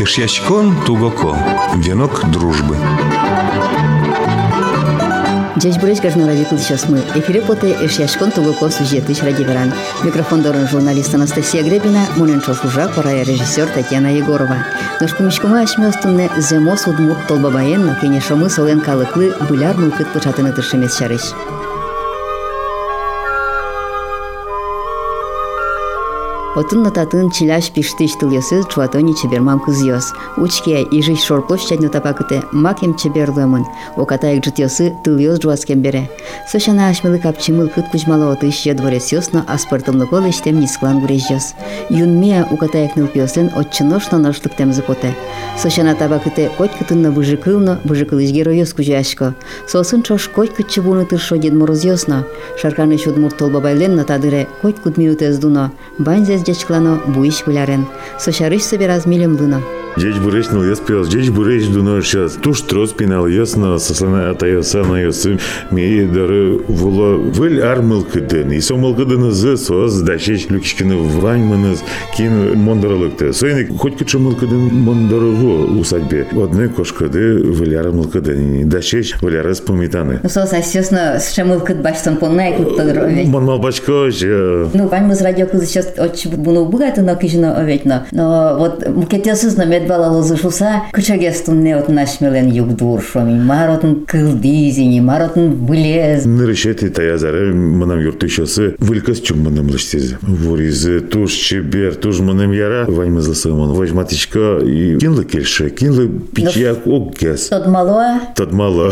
Эшьячкон тугоко. Венок дружбы. Здесь буречка ради сейчас мы. Эфире поте Эшьячкон тугоко сюжеты ради веран. Микрофон дорон журналист Анастасия Гребина, Муненчо Фужа, пора режиссер Татьяна Егорова. Ножку мешкома ашмёстунне земос удмурт толбабаен, но кенешомы солен калыклы буляр мылкыт початыны тыршемес шарыш. Отын нататын чиляш пиштыш тыльосы чуатони чебермам кызьос. Учке ижиш шорплощадь нотапакыте макем чеберлымын. Окатаек житьосы тыльос жуаскем бере. Сошана ашмылы капчимыл кыт кучмало отыще дворец ёсно, а спортымлы гол иштем нисклан гурежьос. Юнмия укатаек нылпиосын отчыношно ношлык темзы поте. Сошана табакыте коть кытынна быжыкылно, быжыкылыш героёс кужашко. Сосын чош коть кытчы буны тыршо Дед Мороз ёсно. Шарканы шудмурт толбабайлен натадыре коть кут минутез дуно. Банзез дечклано буиш гулярен. Сошарыш собираз милем лыно. Дечь бурыч ныл яс пиос, дечь бурыч дуно сейчас. Туш трос пинал ясно, сослана атаяса на ясы. Мей дары вула выль армылкы ден. И сомылкы ден зы соз дачеч люкичкины ваньманыз кин мондаралыкты. Сойник хоть кычы мылкы ден мондарыгу усадьбе. Одной кошкады выль армылкы ден. Дачеч выль арас помитаны. Ну сос асёсно с шамылкы баштан поннай куттадыр овет. Монмал бачко же. Ну ваньмыз радиокызы сейчас отчы буну бugаты но кижно оветно. Но вот мукетесыз на медбалалозы шуса кычагестун не от нашмелен югдур шоми. Маротын кылдизини, маротын былез. Нырышети таязары мынам юртышосы вылькас чум мынам лыштезі. Вуризы туш чебер, туш мынам яра ваньмызлы сымын. Вожматичка и кинлы кельши, кинлы пичьяк оггес. Тот мало. Тот мало.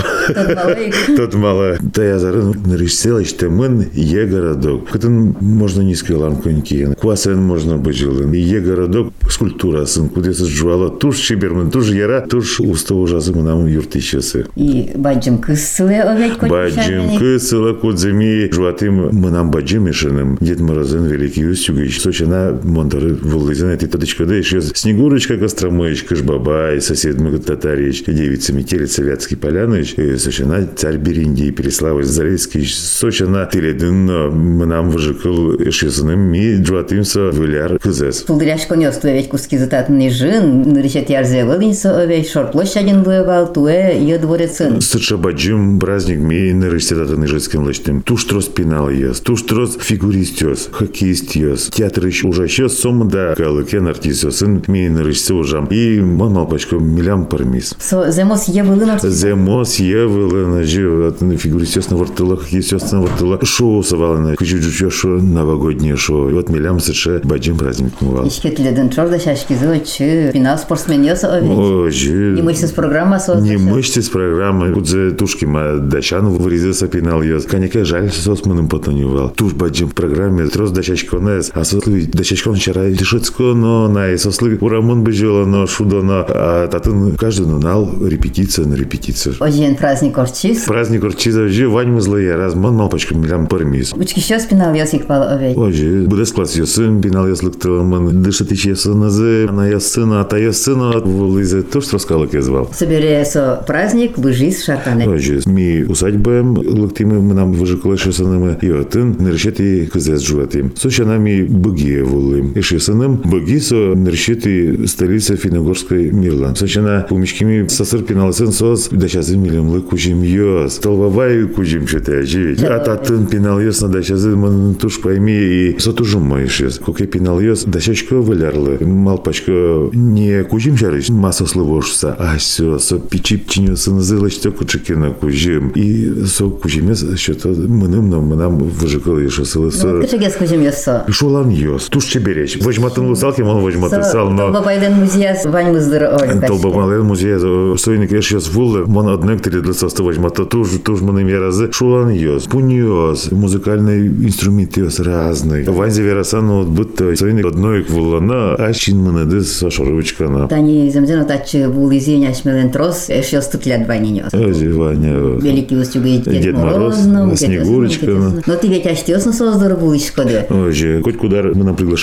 Тот мало. Таязары нырышсела иште мын е городок. Кытын можно низкий ланконьки. Квасен можно быть жилын. Е городок скульптурасын. Кудесы жуала туш чебермын, туш яра, туш уста ужасы мынам юртышосы. И баджым кысылы овет коть. Баджым кысылы кудземи жуатым мынам баджым ишыным. Дед Морозын великий устюгич. Сочина монтары вулызын эти тодочкада еще Снегурочка Костромыч, Кышбабай, сосед Татарич, девица Метелица Вятский Поляныч, Сочина царь Бериндий, Переславль Зарецкий, Сочина Теледынно мынам выжикал ишысыным ми жуатымса выляр кызес. Тулдыряшко нёс туэ ведь куски зататный жин, нырычет ярзе вылынса овет, шорплощаден буевал, туэ е дворецын. Сыча баджым праздник ми нырычтетатын ижыским лычтым. Туш трос пинал ес, туш трос фигурист ес, хоккеист ес, театр ищ ужащес, сомда калыкен артист есын ми нырычсы ужам. И мон малпачко милям пармис. Земос е вылын артист? Земос е вылын, фигурист ес на вартыла, хоккеист ес на вартыла. Шоу савалына, кычу-чу шо новогоднее шоу. Вот милям сыча баджым праздник мувал. Ишкетледен чорда шашкизы очы, финал спортсмен ес овет. Ожи. Не мышцы с программа создать. Не мышцы с программы. Кудзе тушки ма дачан вырезался пинал ес. Коньяка жаль сосманым потонювал. Туш баджим в программе трос дачачко нес. А сослы дачачко вчера дешецко, но на сослы урамон бежала, но шудо на. А татын каждый нунал репетиция на репетицию. Ожен праздник орчиз. Праздник орчиза ожи ваньмы злые раз мон малпачка милям пармис. Учки щас пинал ес икпал овет. Ожи будес класс есым пинал ес лыктылмын. Дышат ич ес назы. Она ес сына, а та ес сына. Вылызе тоже раскалок я звал. Соберется праздник, выжиз шарканы. Ожи ми усадьбаем лыктимы мы нам выжикалы шесанымы. И отын нырщети кызес жуатым. Сочанами быгие вулым. И шесаным быги со нырщети столица Финогорской Мирлан. Сочана умичкими сосыр пиналсын сос. Дачазы милемлы кужим йос. Толбабай кужим что-то оживить. А татын пинал йос на дачазы мон туш пойми и сотужум моиш йос. Коке пинал йос дачачко вылярлы. Малпачко не кужим шарыш. Масса словошса. А все, со пичипчиню сынызылы что кучекина кужим. И со кужимес что-то мынам выжикал еще сылы. Ну, ты же кужим йосо. Шулан йос. Туш чебереч. Вожматын лысалки, он вожматы сал, но... Толбабайлен музея ваньмыздыр. Толбабайлен музея сойник еш йос вулы. Мон однек теледлыса сто вожмата. Туж мыным яразы. Шулан йос. Пунь йос. Музыкальный инструмент йос разный. Ваньзе верасан вот будто сойник одной вулана. А чин мынады со шоровичкана. Тани земзено тачы вулызень ашмелен трос. Эш йос тутлят ванин йос. Ози Ваня. Великий устюгый Дед Мороз. Снегурочка. Но ты ведь аштёсно создор булышко, да? Ожи, хоть куда мы на приглашение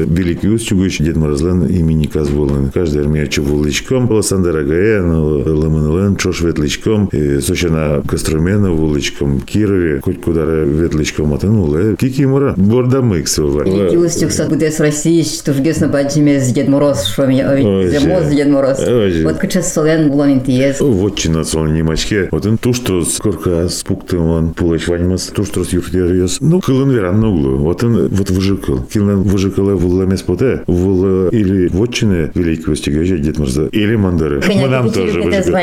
великий устюгыч Дед Морозлен имени Казбулын. Каждый армия вулычком, Александр Агаен, Ламанлен, чош ветличком, Сочина Костромена вулычком, Кирове, хоть куда ветличком отанула. Кикимора, бордамыкс. Великий устюг буде с России, что жгесно баджиме с Дед Мороз, что меня зимой с Дед Мороз. Вот качес солен булон интиез. Вот чина солен немачке. Вот он туштрос корка спуктым он пулач ваньмас, туштрос юртиерьес. Ну, кылын веран на углу. Вот он вот выжикал. Килен выжикал в ламес поте, в или вотчины великий устюг Дед Мороза, или мандары. Мы нам тоже выжикал.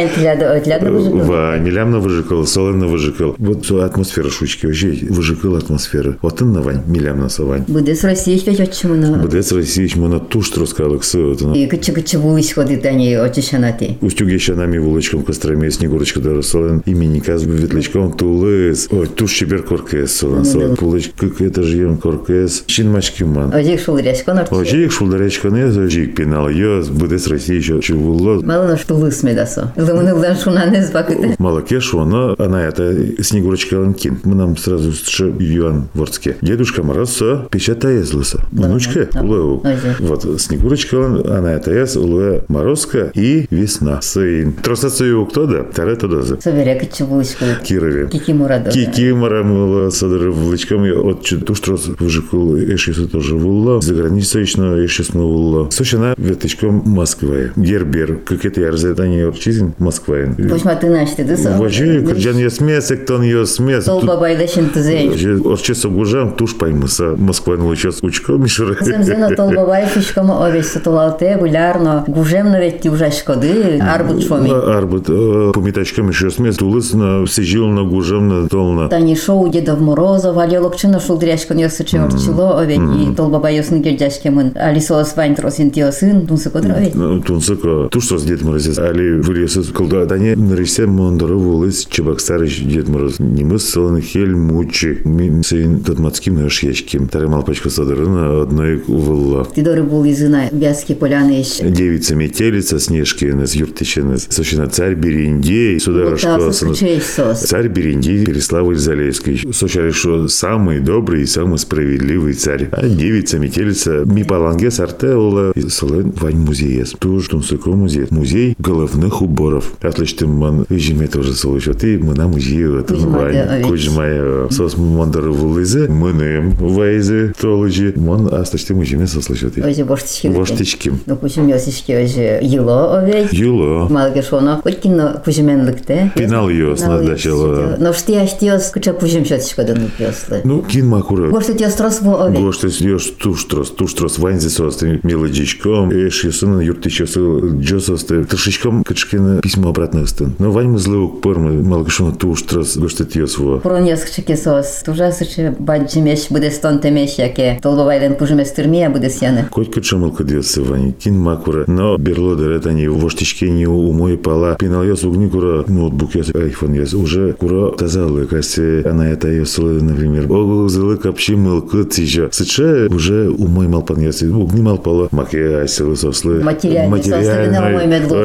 Ва, милям на выжикал, солен на выжикал. Вот атмосфера шучки вообще выжикал атмосфера. Вот он на вань, милям на савань. Буде с России что чему на. Буде с России чему на туштрос калыксы. И каче вулыч ходит они очищанати. Устюги щанами вулычком Костроме, Снегурочка даже солен, имени Казбы ветличком Тулыс. Ой, туш чебер коркес солен, солен пулыч, как это же ем коркес. Щинмачки ман. Ожик шулдырячкон арчи. Ожик шулдырячкон ез, ожик пенал ез, буде с России еще чувуло. Мало на что лыс медасо. Лымынылдан шунанез бакыты. Малакешу, но она это Снегурочка Ланкин. Мы нам сразу Юан Ворске. Дедушка Мороз печатая злыса. Внучка улау. Вот Снегурочка, она это ез, улуя Морозка и весна. Сын. Тросацию кто да? Таре то дозы. Соберя каче вулычку. Кирове. Кикимора. Кикимора мыла садыры вулычком. От туштрос выжикул эшису тоже вулла. За границей еще эшисну вулла. Сочина ветличком Москвы. Гербер. Как это ярзетание орчизин Москвы. Почма ты начти дыса. Вожи, кырджан ес мес, эктон ес мес. Тол бабайда шинтызей. Орчеса гужам туш паймыса. Москва час учко мишуре. Земзено тол бабай фишком овесь сатулалте булярно. Гужем навіть уже шкоди. Арбут шомі. Арбут. Помітачком еще смес. Тулыс на сижил на гужем на толна. Тані шоу Дедов Морозов, али локчина шулдряшкон йосыче орчило овет. И тол бабай йосны гердяшкемын. Али соос вань тросин тиосын. Тунсыко дровет. Тунсыко. Туш сос Дед Морозец. Али вылесыз. Колда тане нарисем мондоры вулыс. Чебоксарыч Дед Мороз. Немыс солын хель мучи. Сейн татмацким нашьячким. Таре малпачка садырына одной увылла. Тидоры был изына Вязки поляны еще. Девица метелица Снежкина с Юртичина. Сочина царь Берендей. Сударышко. Царь Берендей Переславль Залесский. Сочали, что самый добрый и самый справедливый царь. А девица метелица Мипаланге Сартеула. Солен Вань музей. Туж Тунсыко музей. Музей головных уборов. Отлично, ман жиме тоже слышал. Ты мы на музее это Вань. Кujмая сос мандары вулызе. Мыным вайзе толыжи. Ман астачты мы жиме сослышал. Озе боштички. Боштички. Ну кучим йосички озе юло овет. Юло. Малгешоно. Хотькино кужеменлыкте. Пенал йос надачало. Но штияштиос куча кужем шотичко дыны пьослы. Ну кин макура. Гошты трос во овет. Гошты йос туштрос ванзе состы мелодичком. Эш йосын юртичосы джососты. Тышичком качкин письмо обратно стын. Но вань мы злыук пормы малгешоно туштрос гошты тьос во. Пронес кчеки сос. Тужасыче баджимеш буде стон темеш яке. Толбовайден кужемес тюрмия буде сяны. Коть качамылка дьосы вань. Кин макура. Но берло дыретани воштичке не умой пала. Пинал йос угни кура ноутбук йос айфон йос. Уже кура тазалы. Кассе она это йосылы, например. Огузылы капчи мылкы тижа. Сыче уже умой малпан йос. Угни малпала. Маке айсылы сослы. Материальный сослы. Нормой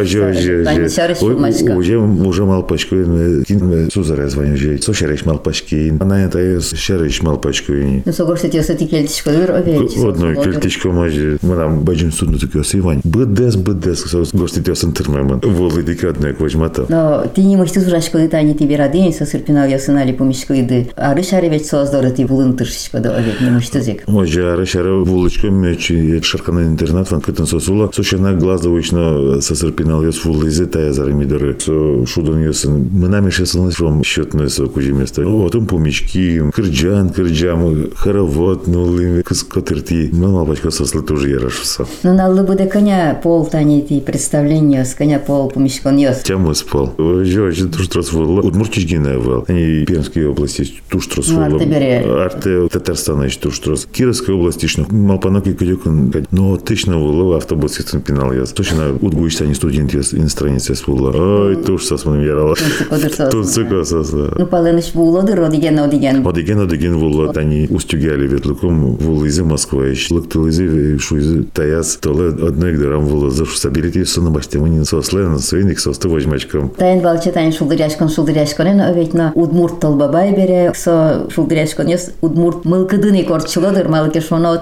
медлу. Уже малпачку. Кин сузаря звоню жей. Сошареш малпачки. Она это йос шареш малпачку. Ну согошты тьосы ти кельтичко дыр овет. Одной кельтичко мажи. Мы нам баджим судну так йос Ивань. Бдес. Гошты тьосын тырмемын. Волы дикадная квачмата. Но ти не можешь тужашко дыта не тебе радень сосырпинал йосынали помешко иды. Ары шаре ведь создоры ти вулын тыршичко да овет. Не можешь тузик. Може ары шаре вулычко мечи шаркана интернат ван кытын сосула. Сочана глазовычно сосырпинал йос вулызы тая зарамидоры. Со шудан йосын. Мы нами шесылныс вам счетное со кужи место. Отым помечки. Кырджам, хоровод, нулы, кыскотырти. Мы малпачка сослы тоже ярашуса. Ну наллы буде коня пол тани ти представление с коня пол помешкон йос. Тему спал. Очень туштрос вулла. Удмуртичгина вал. Они Пермской области туштрос вулла. Арте Татарстана еще туштрос. Кировской области еще малпаноки кадюкан. Но точно вулла автобус систем пинал я. Точно удгуичтани студент иностранец вулла. Ой, туш сос мы ярала. Тунцыко сос. Ну паленыш вулла дыр одиген. Одиген вулла. Тани устюгали ветлыком вулла из Москвы. Лыктыл из шуизы таяс. Толе одной гдарам вулла. Зашу сабилити сона баштеманин сослен. Свиник состы возьмачком. Тайн балче тайн шулдыряшкон. Но ведь на удмурт толбабай бере. Со шулдыряшкон йос удмурт мылкыдыны корчылодыр. Малыке шоно отын перек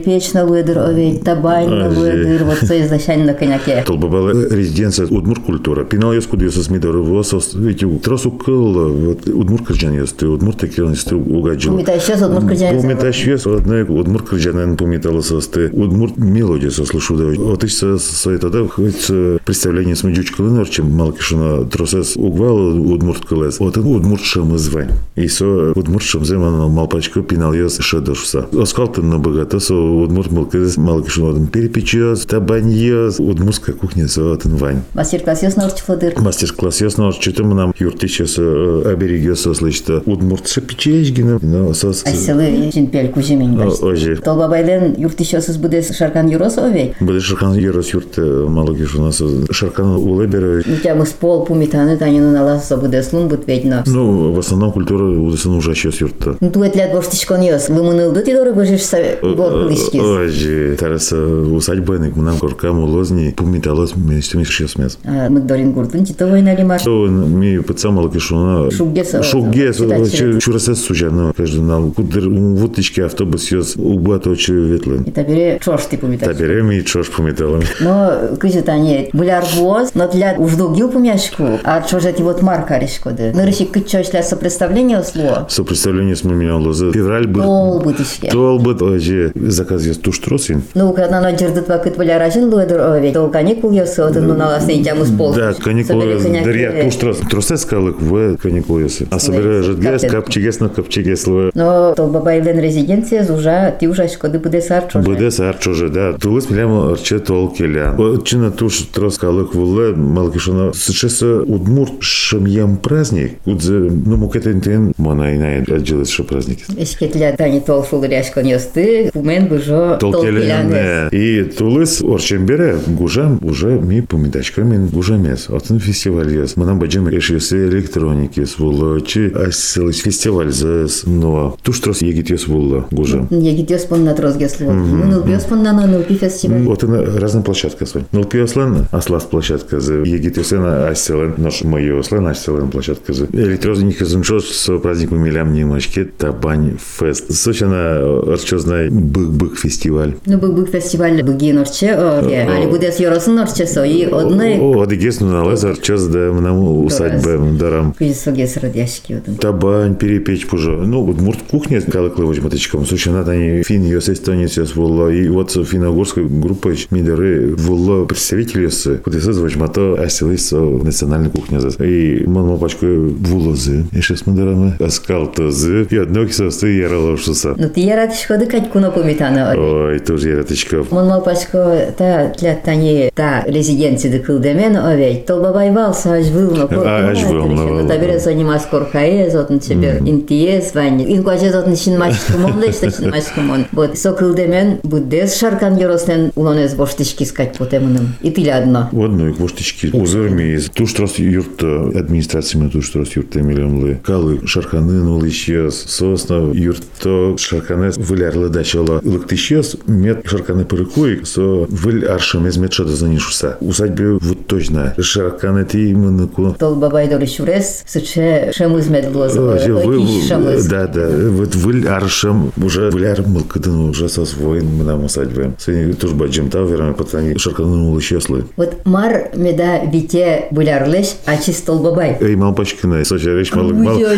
перепечна выдыр овей, табайна выдыр, вот со изначально на коняке. Толбабала резиденция удмур культура. Пинал яс кудиос смидор восос. Видите, тросу кыл вот удмур кырджан яс ты удмур такие яс ты угадил. Помитай сейчас удмур кырджан. Помитай сейчас одна удмур кырджан помитала сос ты удмур мелодия сослышу да. Вот еще со это хоть представление с медючка лынорчем малкишина тросес угвал удмур кылес. Вот удмур шам звань. И со удмур шам земан малпачка пинал яс шедошса. Оскалтын на богато со удмур малкишина перепечёс, табаньёс, удмурская кухня со отын вань. Мастер-класс яс норчфодыр. Мастер-класс ясно, что нам юртищес оберегёс слышно удмуртша печечгина, но сос. Айселы жинпель куземень башт. Ожи. Толбабайден юртищесыз будес шаркан юрос овей. Буде шаркан юрос юрт малогиш у нас шаркан улебера. У тебя мы с пол пумитаны танину наласа будес лун бут ведьно. Ну, в основном культура удесан ужащёс юрта. Ну тует лят боштишкон ёс. Вымынылды ти доры божишься год лишкис. Ожи. Тараса усадьбаник нам коркам улозни пумиталос вместе мешёс мес. Мы дорин гуртун титовой налимаш. То ми пацан малогиш у нас шуггес чурасес сужано. Каждый нам кудер вутички автобус ёс убаточу ветлен. И табере чош ты пумиташ. Табере ми чош пумиталам. Но кызет они буляр воз, но для уждогил пумяшку, а чожет вот марка решкоды. Нырышик кычошля сопредставление слово. Сопредставление с мумином лозы. Февраль был. Тол бытышке. Тол быт, ожи, заказ есть туш тросин. Ну, когда на дердет вакыт буляражин луэдер овей, то каникул ёсы, вот ну на ласне тяму с пол. Да, каникулы, дарья туш трос. Тросес калык в каникулы ёсы. А собирая жидгес, капчигес на капчигес луэ. Но то бабайлен резиденция зужа, ты уже шкоды буде сарчоже. Буде сарчоже, да. Тулыс милям арче тол келя. Чина туш трос калык вуле, малкишона. Сейчас удмурт шамьям праздник. Удзе, ну, мукетен мона инай отжилась шо праздники. Эшкетля тани тол шулыряшкон ёсты, пумен бужо тол келянес. И тулыс орчембере гужам уже ми помидачками гужамес. Отын фестиваль ёс. Манам баджем эшесе электроники сволочи. Асилыс фестиваль зэс. Но туш трос егит ёс вулла гужам. Егит ёс пон на трос гесло. Ну, нылпи ёс пон на нылпи фестиваль. Вот это разная площадка свой. Нылпи ёслен, аслас площадка за егит ёсен, асилен, наш мой ёслен, асилен площадка за. Электроники зунчос с праздником милям немочки, табань фест. Сочина арчозная бык фестиваль. Ну, бык фестиваль быги норче, али будес ёросын норче со, и одной... Одегес, ну, налез арчоз, да, нам усадьбе, дарам. Кызис огес радяшки. Табань, перепечь пужо. Ну, вот мурт кухня, калыклы возьматочком. Сочина, они фин ёс, эстонец ёс волла. И вот финно-угорской группой мидеры волла представители ёс. Куда ёс возьмато асилыс национальной кухня. И мама пачку вулозы. И шесть мидерами. Аскалтозы. И одно кисосты яралошуса. Ну, ты яратышко да кать куно помитана. Ой, тоже яратышко. Мама пачко та для тани та резиденции да кылдемен овей. То бабай валса аж вылно. Аж вылно. Табере занимас коркае, зотн тебе интиес вань. Инкуаче зотн шин мачкумон, лешта шин мачкумон. Вот со кылдемен буддес шаркан ёроснен улонез боштышки скать потемыным. И ты одно. Одно и боштышки. Узырми. Туш трос юрта администрациями туш трос юрта милемлы. Калы шарканын улышьёс. Сосна юрта шарканес вылярлы дачала. Лыктышьёс мет шарканы пырыкуик. Со выль аршамез мет шада занишуса. Усадьбе вот точно. Шарканы ти мыныку. Тол бабай дори шурес, суче шемыз медлоза. Да. Вот выль аршам уже выляр мылкыдын уже сосвоин мынам усадьбе. Сыни туш баджим таверами пацани шарканын улышьёслы. Вот мар меда вите булярлыш, а чистол бабай. Эй, малпачкина, соча речь малык.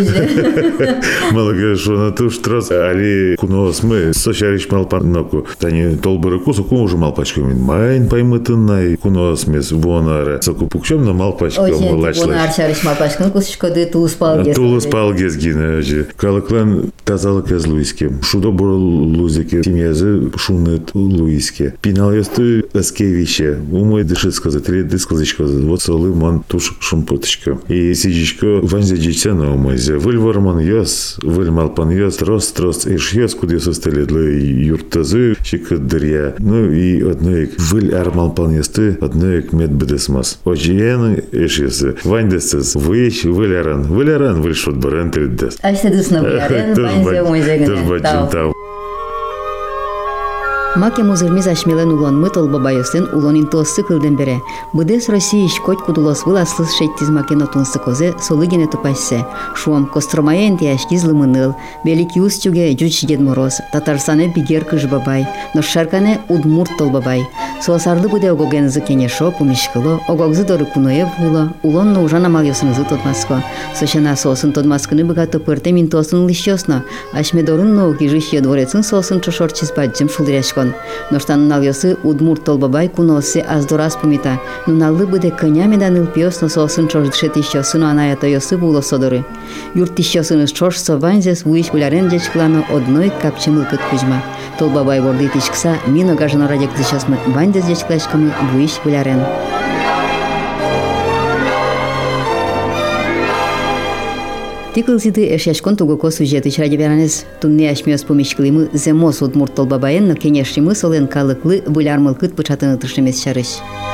Малык, что на туш трос, али кунос мы, соча речь малпаноку. Тани толбырыку, соку уже малпачками. Майн паймытынай кунос мес вонара. Соку пукчем на малпачком влачлыш. Вонар чарыш малпачкан кусышко ды тулыс палгез. Тулыс палгез гine. Калыклан тазалык аз луиске. Шудо бор лузике. Тимязы шунет луиске. Пинал ясты аскевище. Умой дышит сказать, три дысказочка. Вот солы мон туш шумпуточка. И сидичко ванзе дичана умойзе. Выль ворман яс, выль малпан яс, трос, иш яс, куди состали для юртазы, щекадря. Ну и одной выль армалпан ясты, одной медбедесмас. Ожиен иш ясы. Вань десес, выищ, выляран, выль шутбарен триддес. А если дысна выляран, ванзе умойзе гне. Маке музырмиз ашмелен улонмы толбабайысын улонин тосы кылден бере. Быдес Россия ишкоть кудулос выласлыс шеттиз макен отунсы козе солыгене тупайсе. Шуам Костромаен тяшкиз лымыныл, Великий Устюге Жуч Дед Мороз, Татарстане Бигер Кыжбабай, Ношаркане Удмурт толбабай. Суасарлы буде огогензы кенешо пумишкыло, огогзы доры куноев було, улонно ужана малёсынызы тотмаско. Сочана сосын тотмаскыны богато пырте мин тосын лищосно, ашмедорын ноуки жищие дворецын сосын чошорчиз баджым шулдряшкон. Ноштан налёсы Удмурт толбабай куносы аздорас пумита, нуналлы буде конями даныл пьёсно сосын чождыше тищосыно анаято ёсы було содоры. Юрт тищосыныз чош сованзес вуиш булярен дечклано одной капчымылкыт кузьма. Толбабай борды тишкса, мин огажано радик тищосмы вандес дечклашкамы вуиш булярен. Тикылсиды эшяшкон тугоко сюжеты ради беранес. Тунне ашмёс помишкылымы земос Удмурт толбабайен, но кенешримы солен калыклы булярмылкыт пычатыны тышемес чарыш.